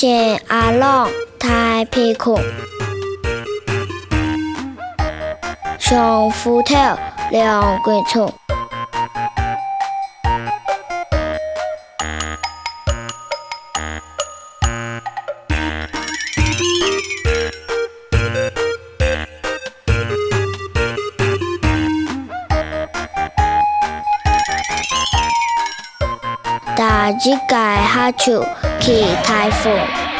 前阿郎太皮裤，上斧头两根葱。大只界下手去台风。